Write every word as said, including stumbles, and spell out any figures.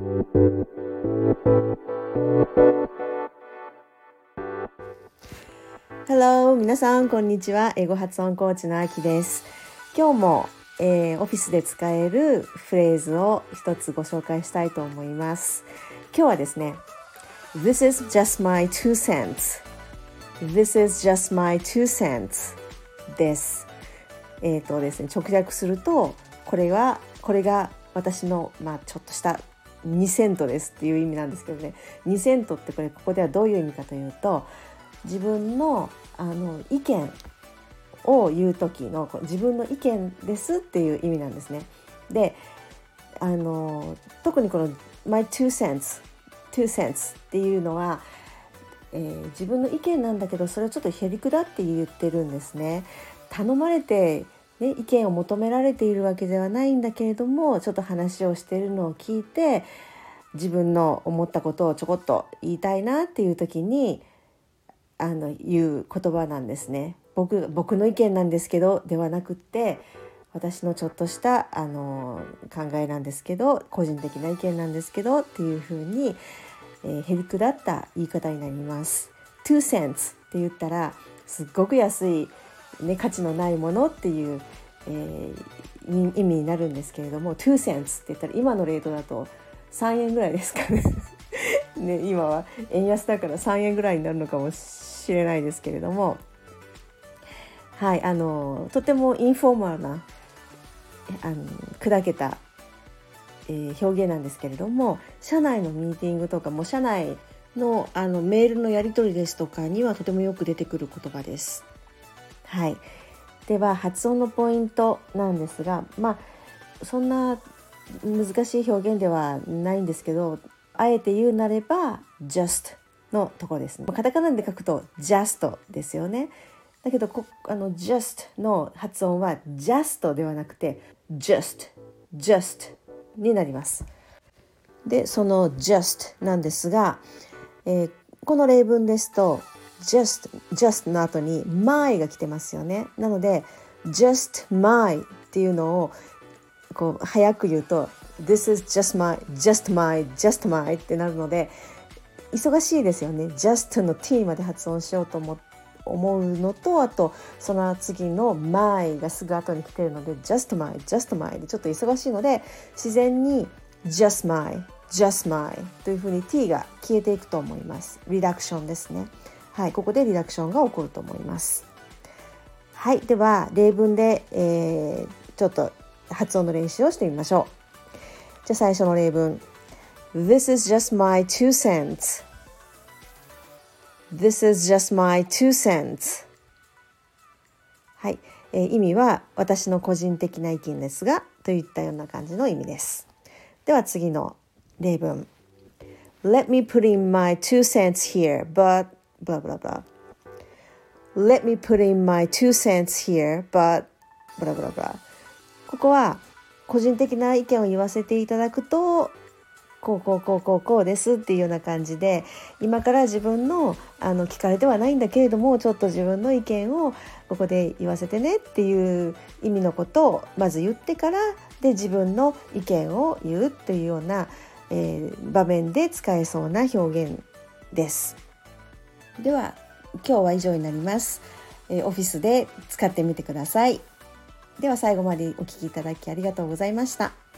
Hello、皆さんこんにちは。英語発音コーチのあきです。今日も、えー、オフィスで使えるフレーズを一つご紹介したいと思います。今日はですね、This is just my two cents。This is just my two cents です。えっとですね、直訳すると、これはこれが私のまあちょっとしたにセントですっていう意味なんですけどね。にセントってこれここではどういう意味かというと、自分のあの意見を言う時の自分の意見ですっていう意味なんですね。で、あの特にこの my two cents two cents っていうのは、えー、自分の意見なんだけど、それをちょっとへりくだって言ってるんですね。頼まれて、ね、意見を求められているわけではないんだけれども、ちょっと話をしているのを聞いて、自分の思ったことをちょこっと言いたいなっていう時にあの言う言葉なんですね。僕、僕の意見なんですけどではなくって、私のちょっとしたあの考えなんですけど、個人的な意見なんですけどっていうふうに、えー、へりくだった言い方になります。two cents って言ったらすっごく安い、ね、価値のないものっていう、えー、意味になるんですけれども、two cents って言ったら今のレートだとさんえんぐらいですかねね、今は円安だからさんえんぐらいになるのかもしれないですけれども、はい、あのとてもインフォーマルなあの砕けた、えー、表現なんですけれども、社内のミーティングとかも社内 の, あのメールのやり取りですとかにはとてもよく出てくる言葉です。はい、では発音のポイントなんですが、まあそんな難しい表現ではないんですけど、あえて言うなれば just のところですね。カタカナで書くと just ですよね。だけどこあの just の発音は just ではなくて just just になります。で、その just なんですが、えー、この例文ですと just just の後に my が来てますよね。なので just my っていうのをこう早く言うと This is just my just my just my ってなるので忙しいですよね。 just の t まで発音しようと思思うのと、あとその次の my がすぐ後に来てるので just my just my でちょっと忙しいので、自然に just my just my というふうに t が消えていくと思います。リダクションですね。はい、ここでリダクションが起こると思います。はい、では例文で、えー、ちょっと発音の練習をしてみましょう。じゃあ最初の例文。 This is just my two cents. This is just my two cents. はい、えー、意味は私の個人的な意見ですがといったような感じの意味です。では次の例文。 Let me put in my two cents here, but blah blah blah. Let me put in my two cents here, but blah blah blah. ここは個人的な意見を言わせていただくと、こうこうこうこうこうですっていうような感じで、今から自分のあの聞かれてはないんだけれども、ちょっと自分の意見をここで言わせてねっていう意味のことをまず言ってから、で自分の意見を言うっていうような、えー、場面で使えそうな表現です。では今日は以上になります。えー、オフィスで使ってみてください。では最後までお聞きいただきありがとうございました。